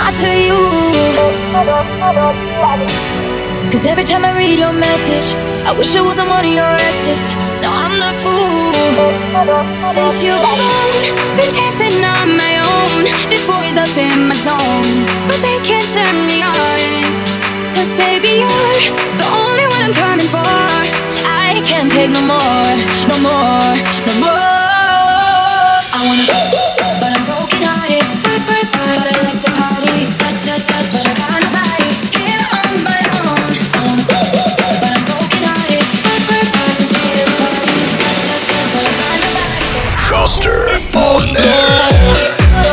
to you. Cause every time I read your message, I wish I wasn't one of your exes. Now I'm the fool. Since you've gone, been dancing on my own. This boy's up in my zone, but they can't turn me on. Cause baby, you're the only one I'm coming for. I can't take no more, no more, no more. I wanna, but I'm broken hearted. But I like to party, but I got nobody here on my own. I wanna, but I'm broken hearted. Sincere party, but I got nobody. Schuster on air.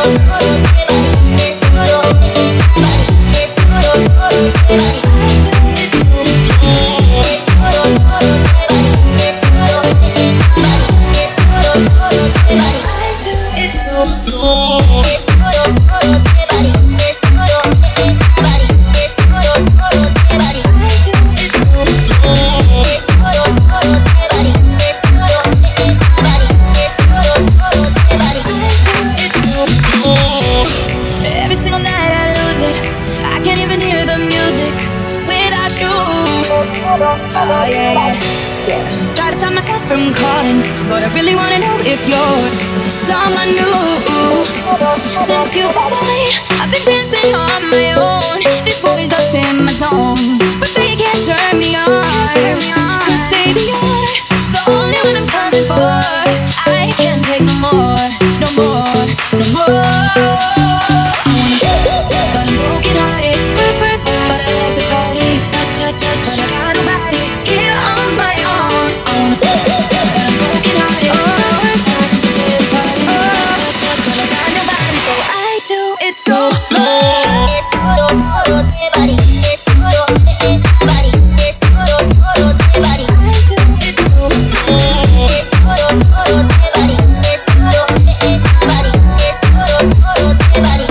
Every single night I lose it. I can't even hear the music without you. Oh yeah, yeah. Try to stop myself from calling, but I really wanna know if you're someone new. Since you've been gone, I've been dancing on my own. This boy's up in my zone, but they can't turn me on. Cause baby, you're the only one I'm coming for. I can't take no more, no more, no more. But I'm broken hearted, but I like the party, but I got nobody here on my own. I wanna, but I'm broken hearted, sensitive party, but I got nobody, so I do it so low. Es solo, solo te body, es solo te body, es solo, solo te body. I do it so low. Es solo, solo te body, es solo te body, es solo, solo te body.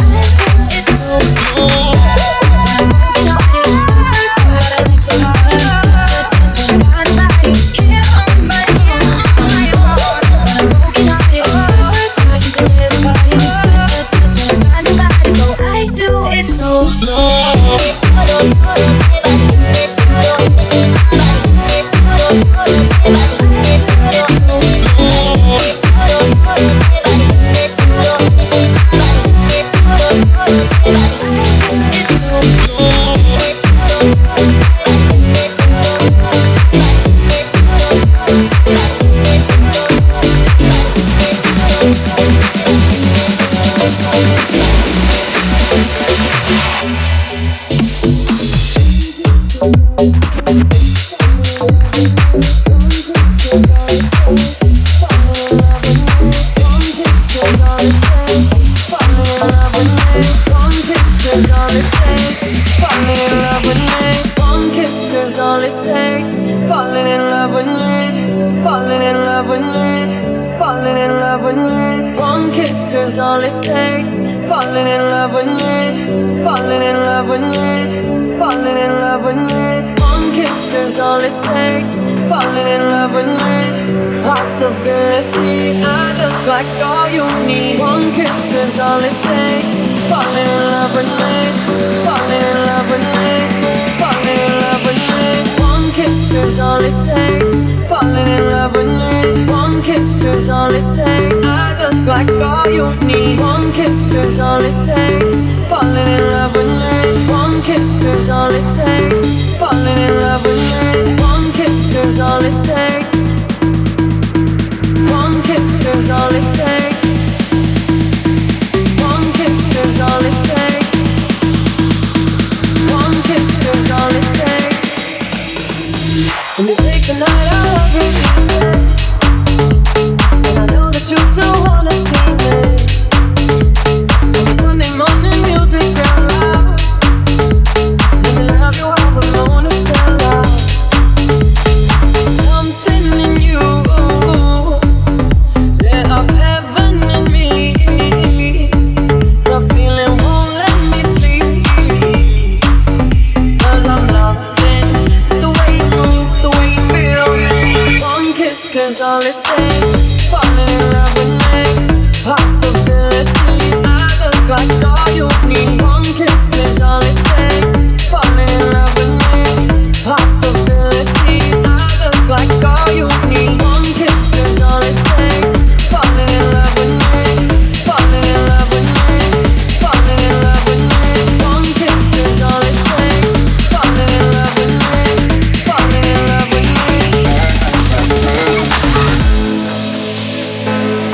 Something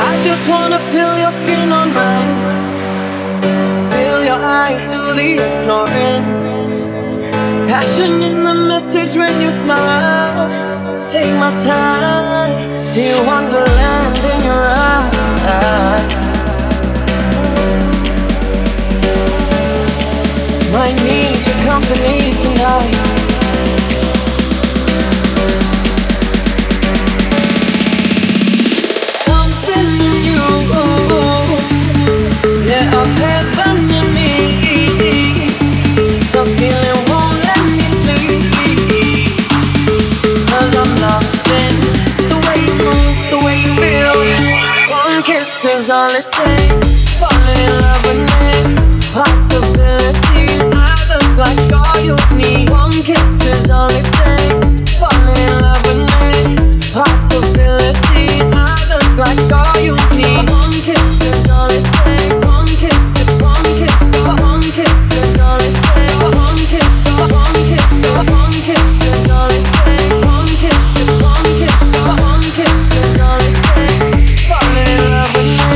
I just wanna feel your skin on mine, feel your eyes do the ignoring, passion in the message when you smile. Take my time, see wonderland in your eyes. Might need your company tonight. Something new, yeah, I'm heaven in me. The feeling won't let me sleep, 'cause I'm lost in the way you move, the way you feel. One kiss is all it takes. Falling in love with me. Possibilities, I look like all you need. One kiss is all it takes. Falling in love with me. Possibilities, I look like all you need. One kiss is all it takes. One kiss, one kiss, one kiss is all it takes. One kiss, one kiss, one kiss is all it takes. One kiss, one kiss, one kiss is all it takes. Falling in love with me.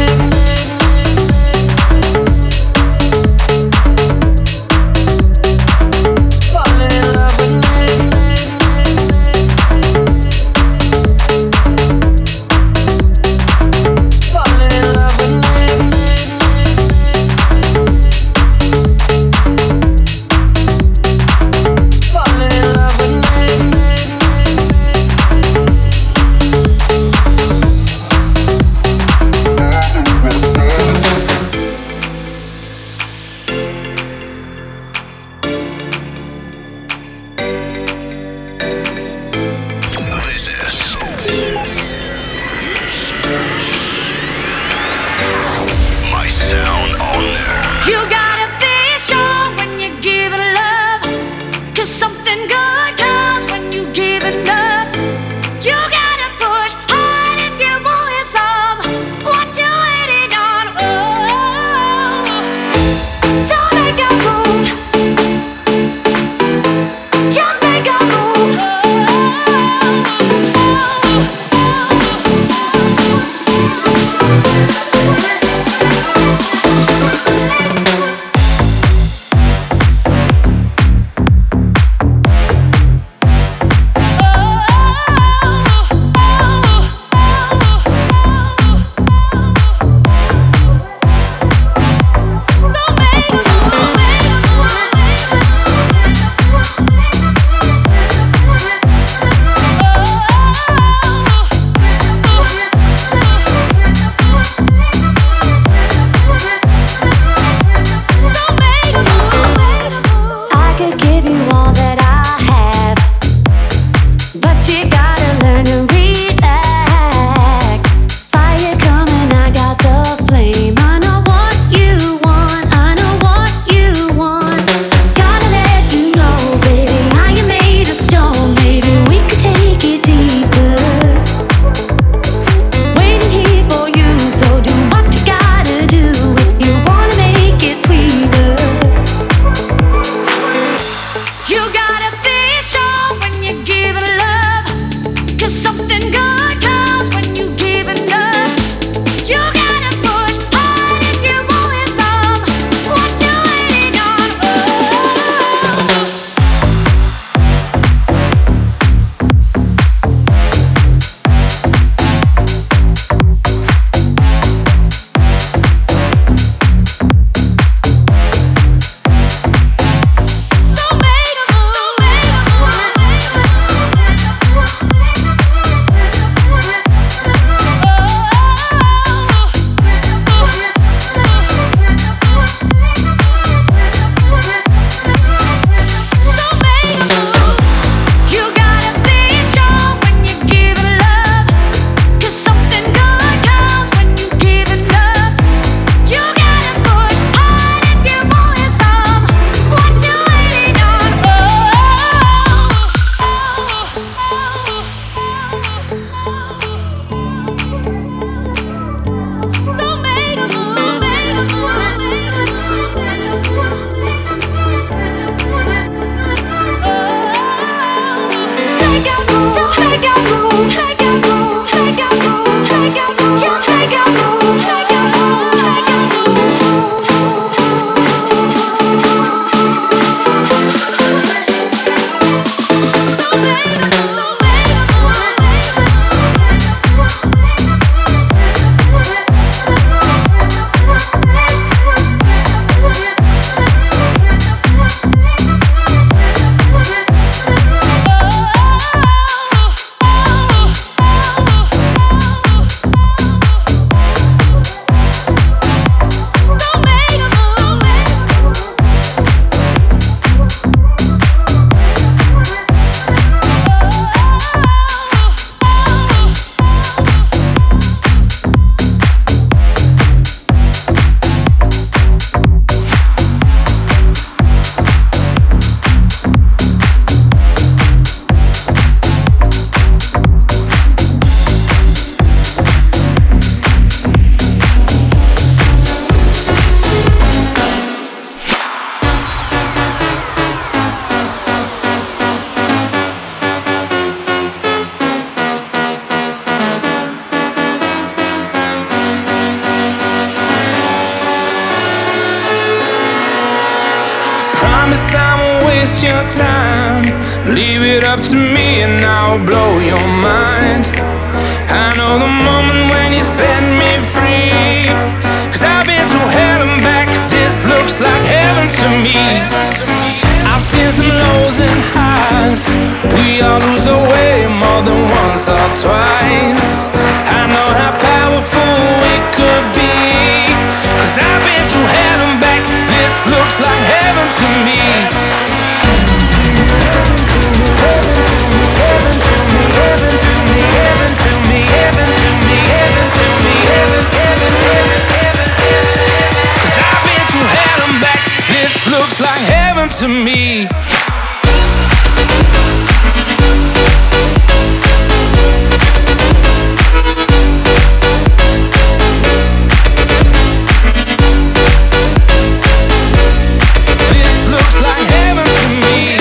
Promise I won't waste your time. Leave it up to me and I'll blow your mind. I know the moment when you set me free, 'cause I've been through hell and back. This looks like heaven to me. I've seen some lows and highs. We all lose our way more than once or twice. I know how powerful we could be, 'cause I've been through hell and back. This looks like heaven to me. Looks like heaven to me. This looks like heaven to me.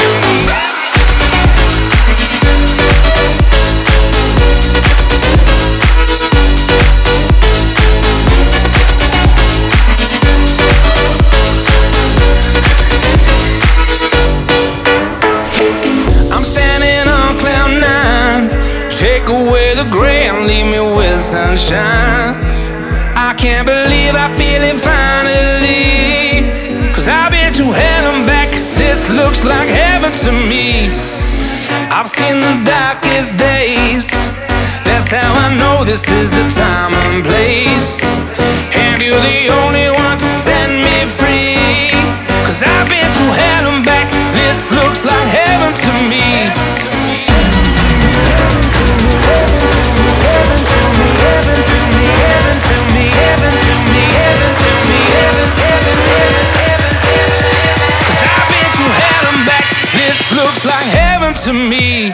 Take away the gray and leave me with sunshine. I can't believe I feel it finally, 'cause I've been to hell and back. This looks like heaven to me. I've seen the darkest days. That's how I know this is the time and place. And you're the only one to set me free, 'cause I've been to hell and back. This looks like heaven to me. Looks like heaven to me.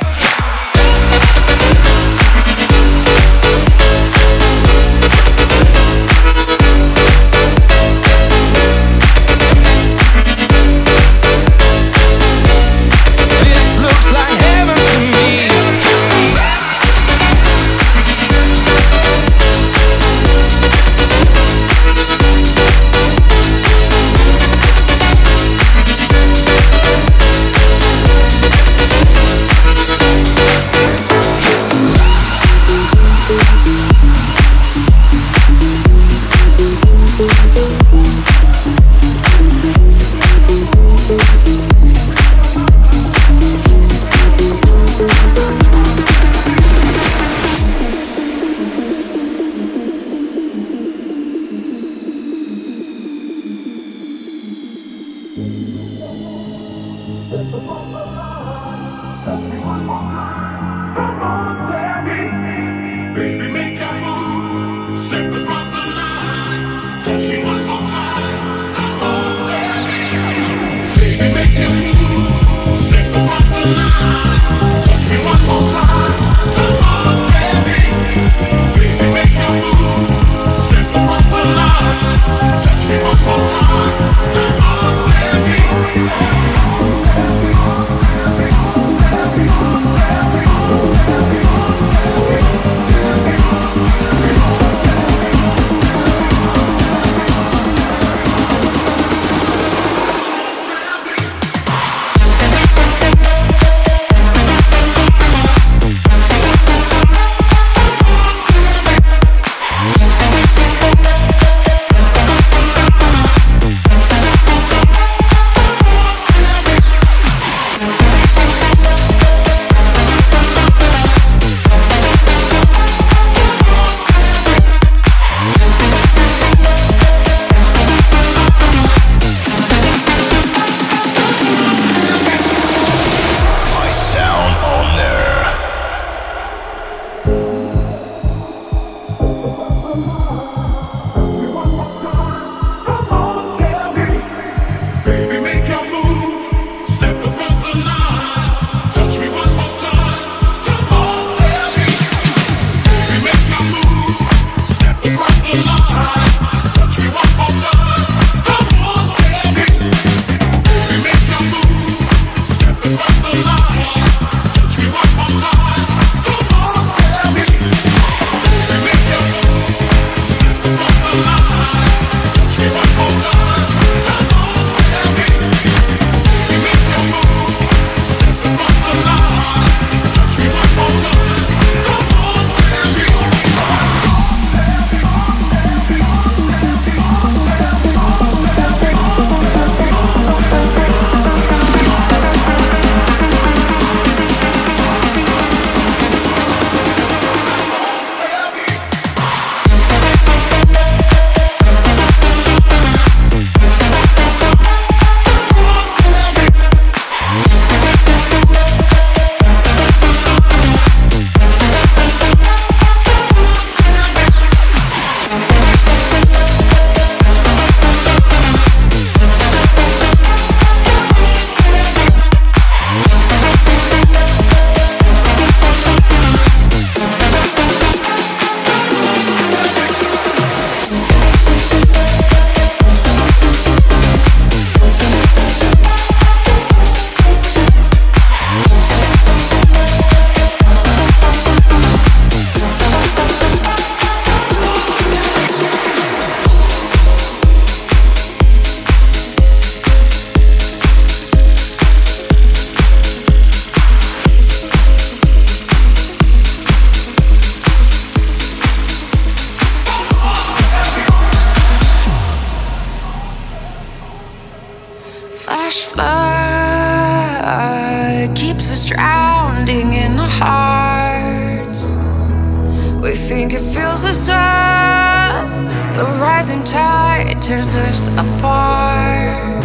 losing tide tears us apart.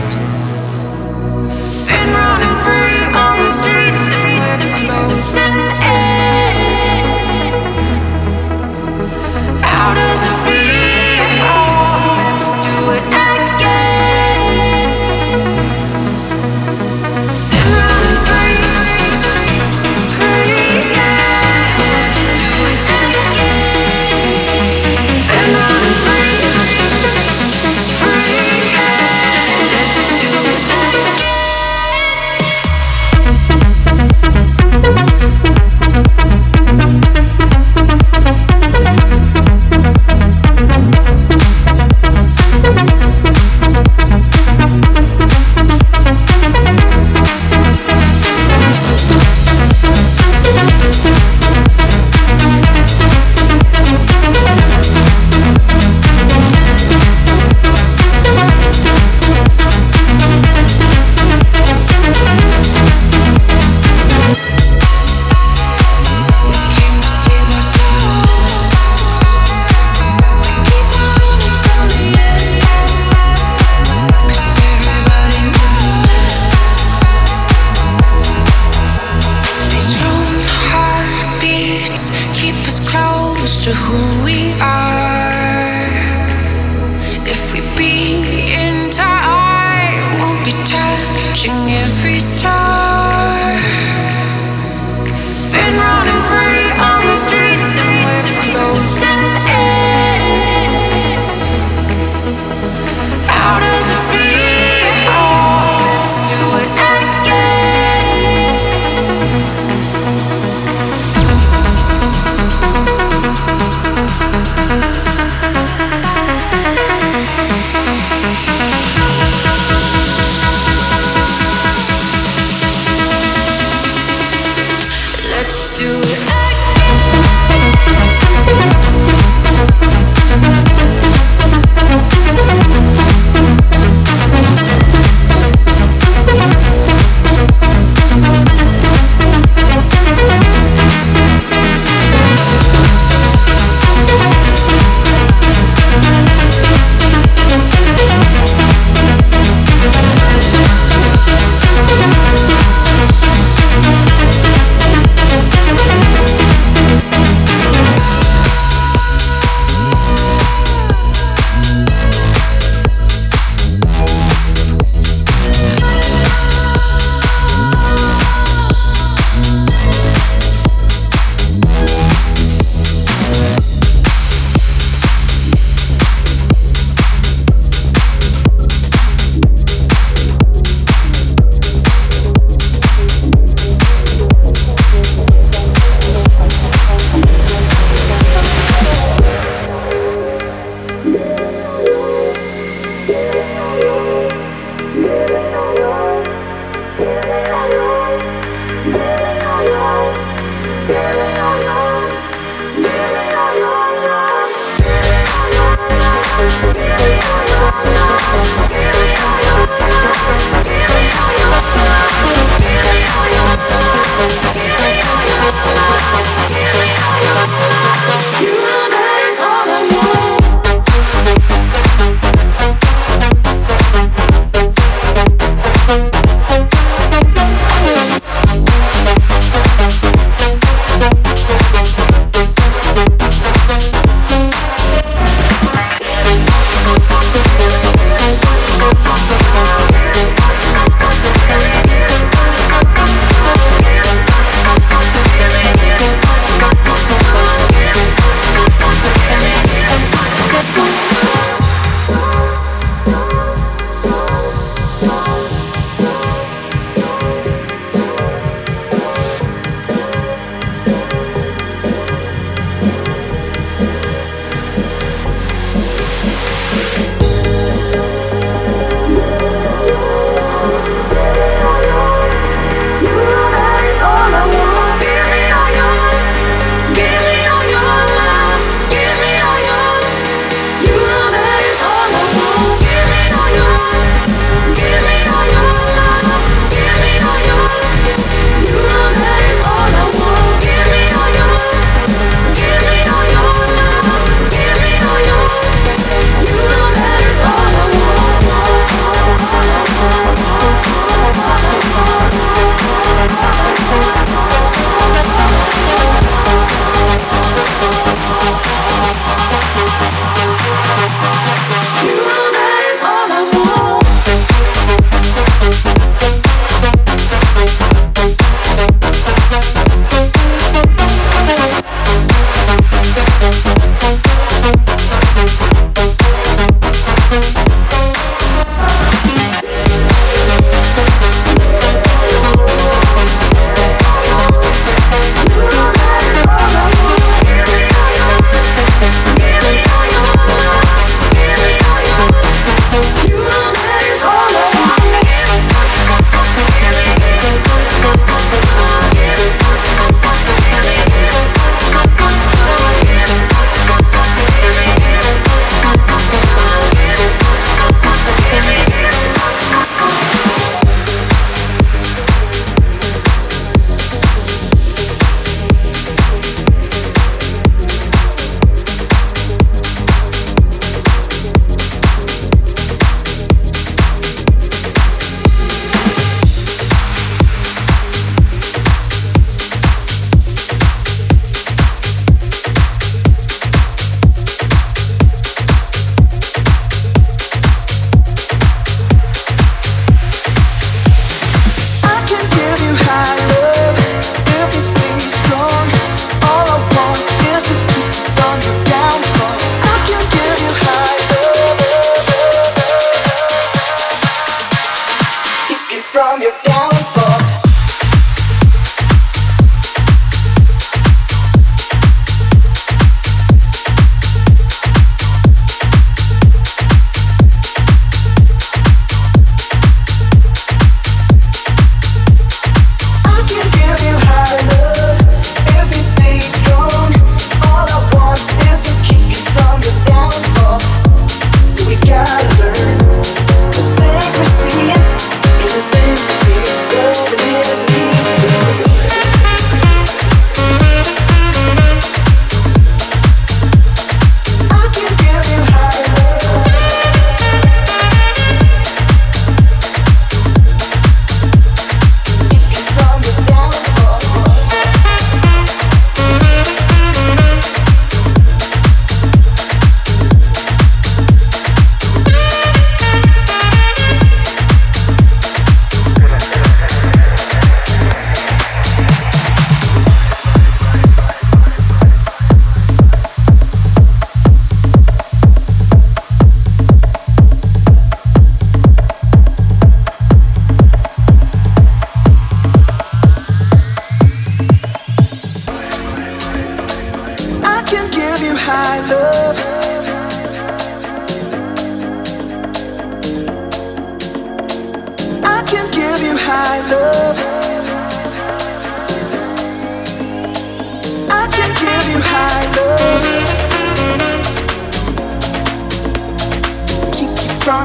Been running free on the streets and we're closing in. How does it feel? Let's do it again. Been running free, free, yeah. Let's do it again. Been running free, free, yeah.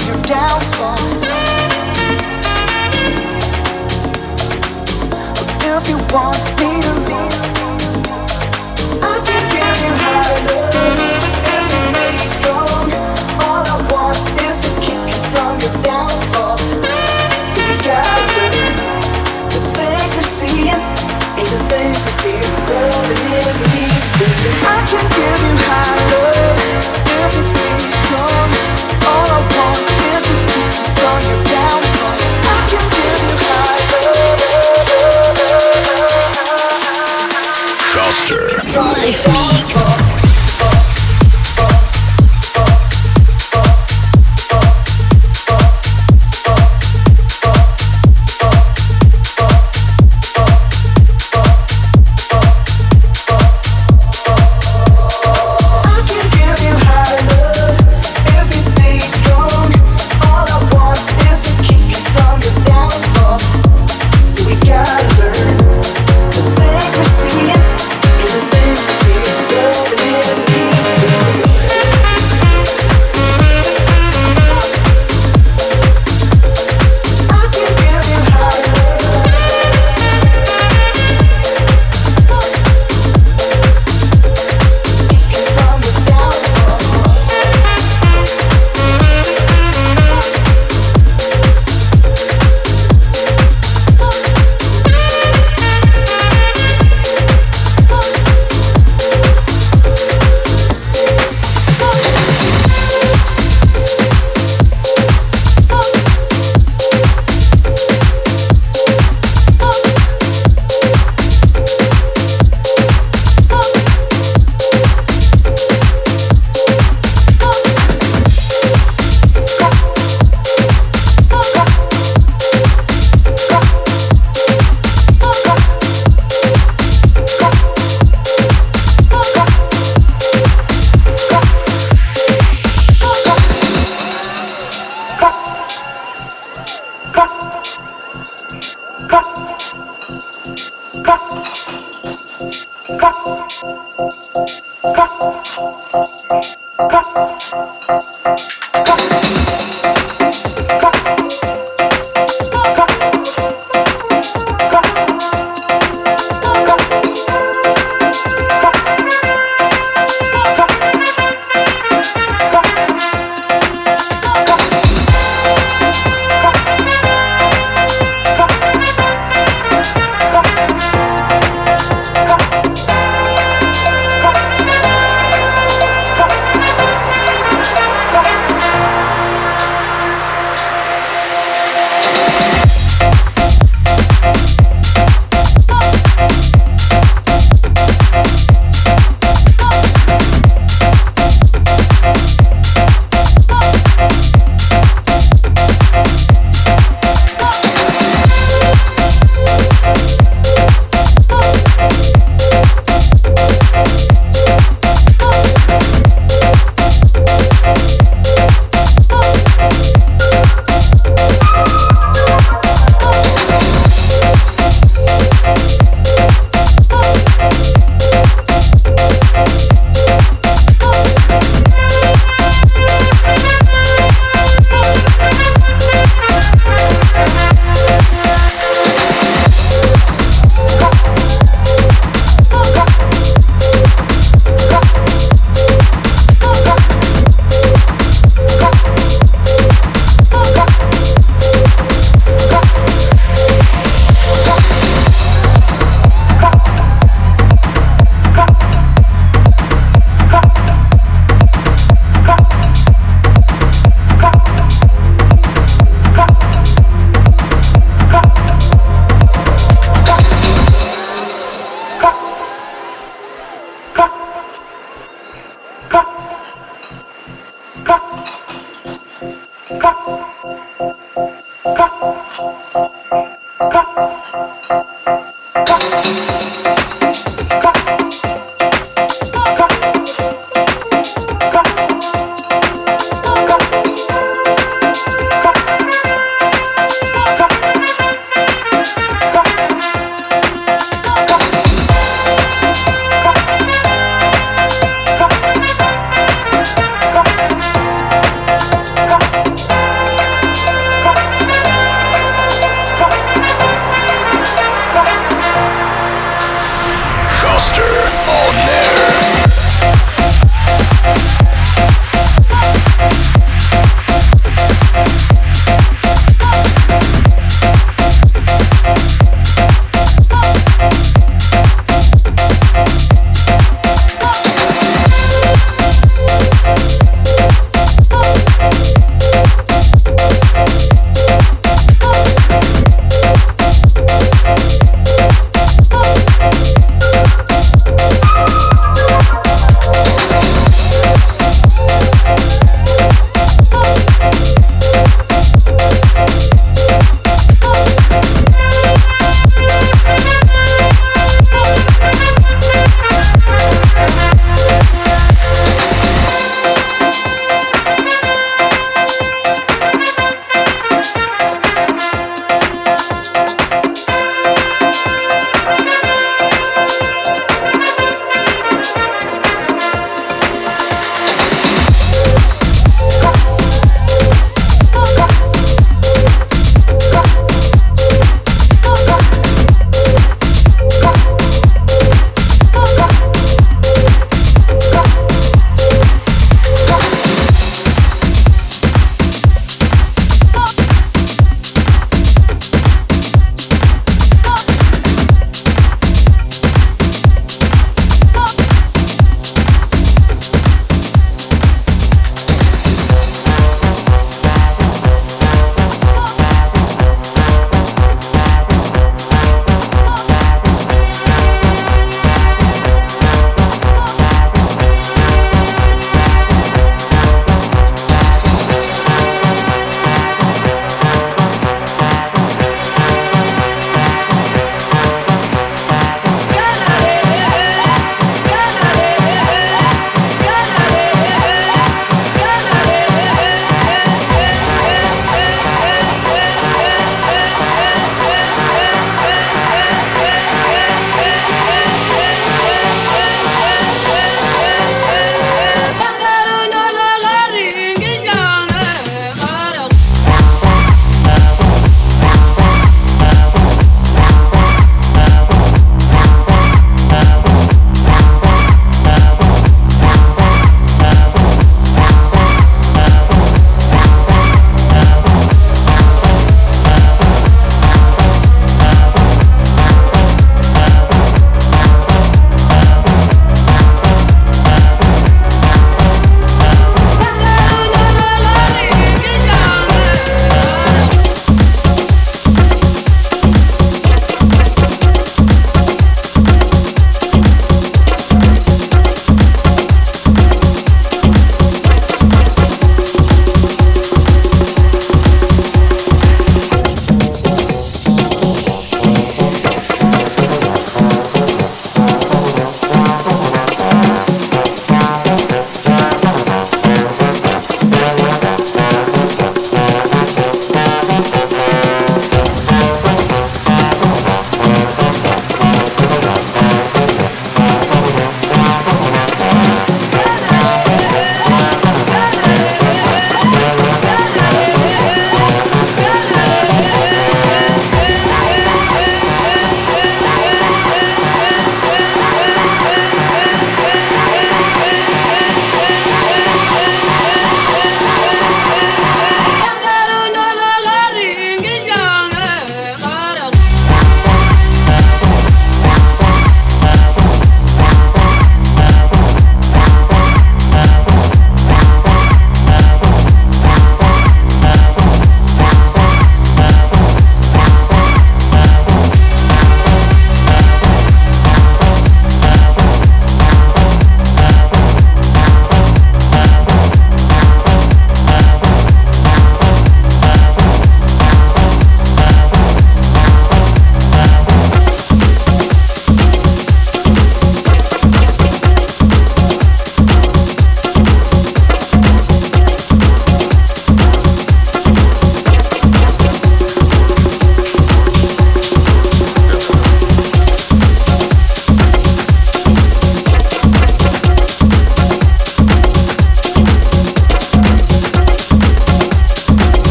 your downfall. If you want me to leave, I can give you high love. If you stay strong, all I want is to keep you from your downfall. So you gotta learn the things we're seeing and the things we feel. Loving isn't easy. I can give you high love. If you stay strong, all I want is to keep you from your downfall. I can give you high love. Shuster.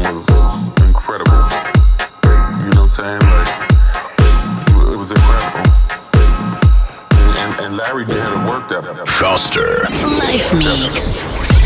was incredible. You know what I'm saying? Like, it was incredible. And Larry had to work that. Schuster. Life Mix.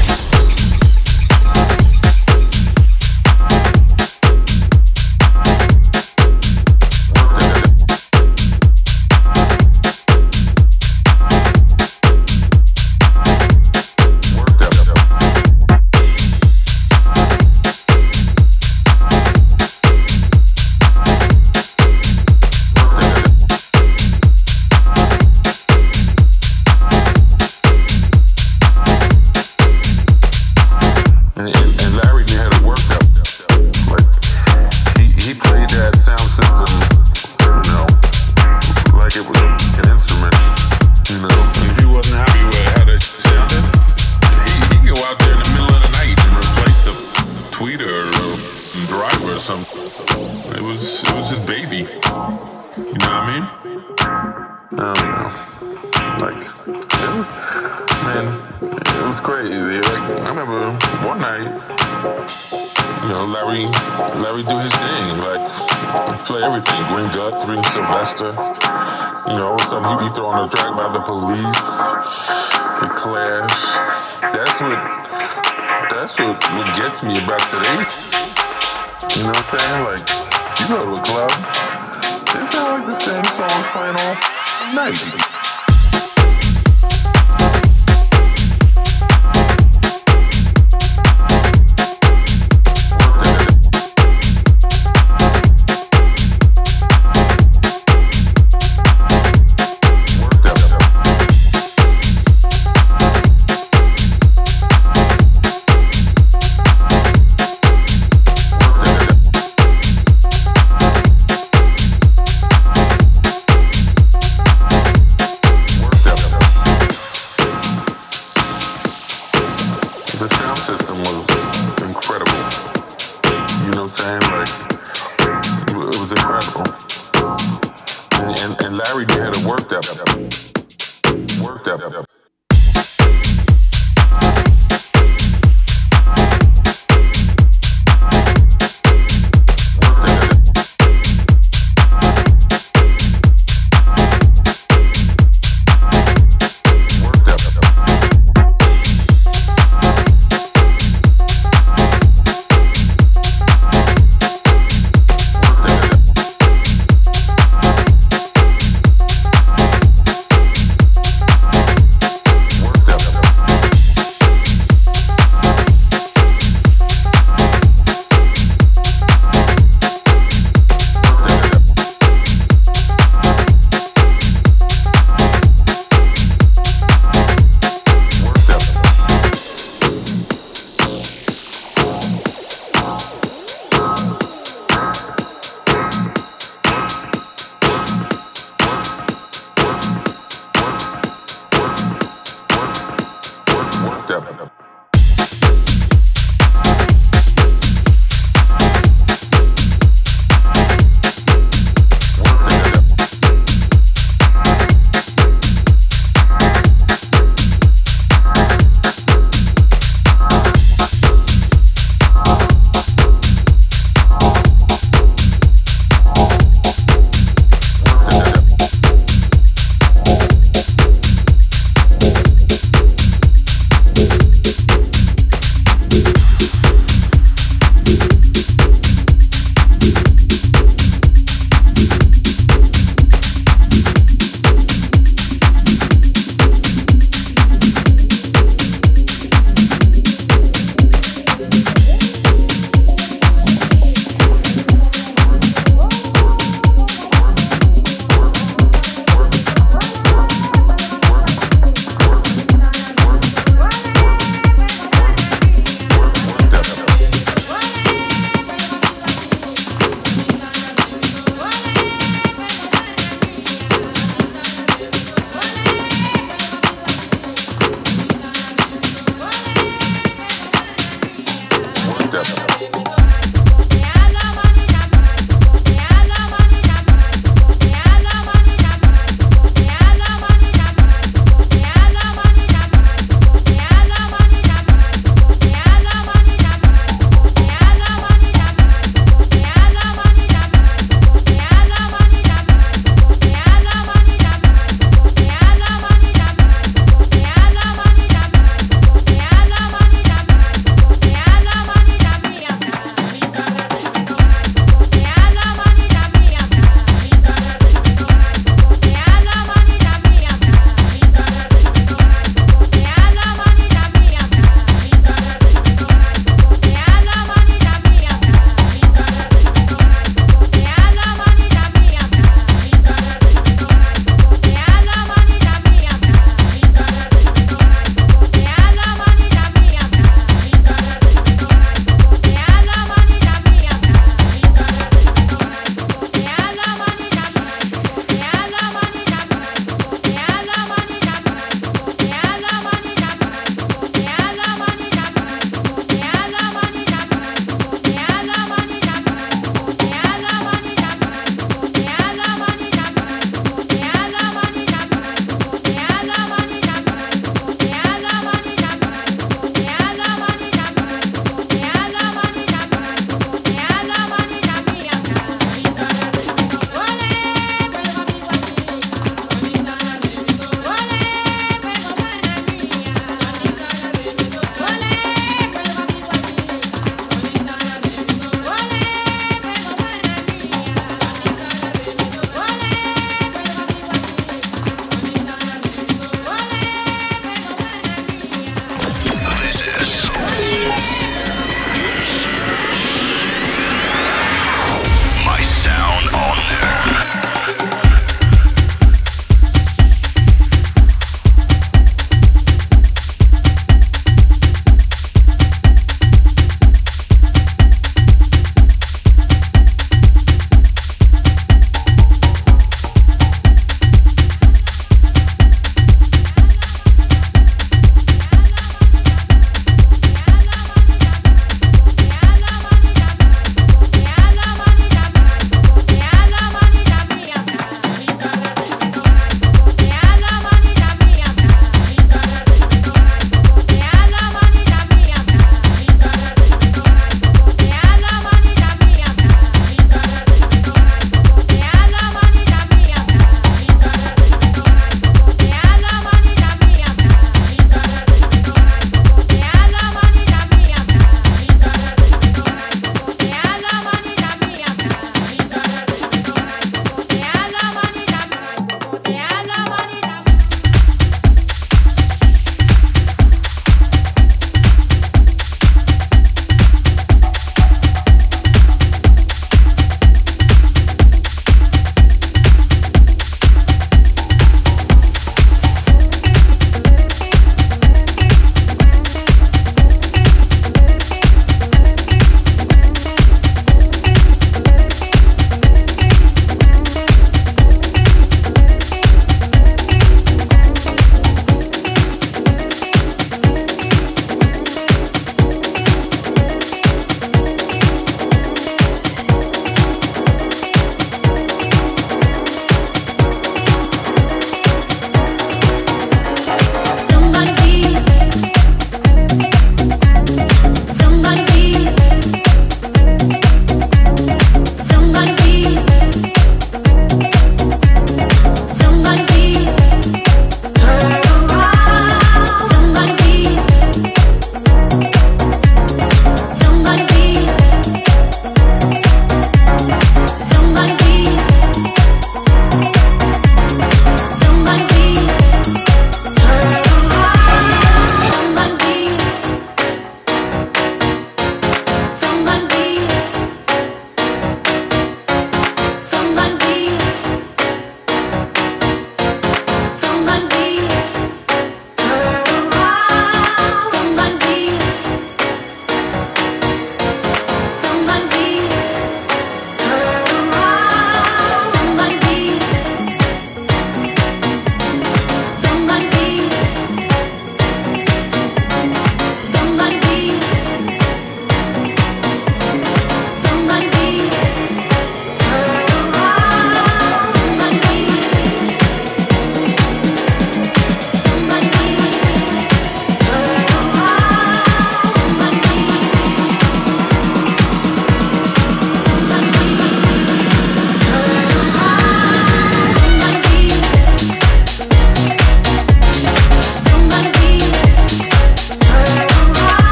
Larry do his thing, like play everything. Gwen Guthrie, Sylvester, you know, all of a sudden he be throwing a track by the Police, the Clash. That's what gets me about today. You know what I'm saying? Like, you go to a club, they sound like the same songs playing all night. The sound system was incredible. You know what I'm saying? Like, it was incredible. And Larry had to work that.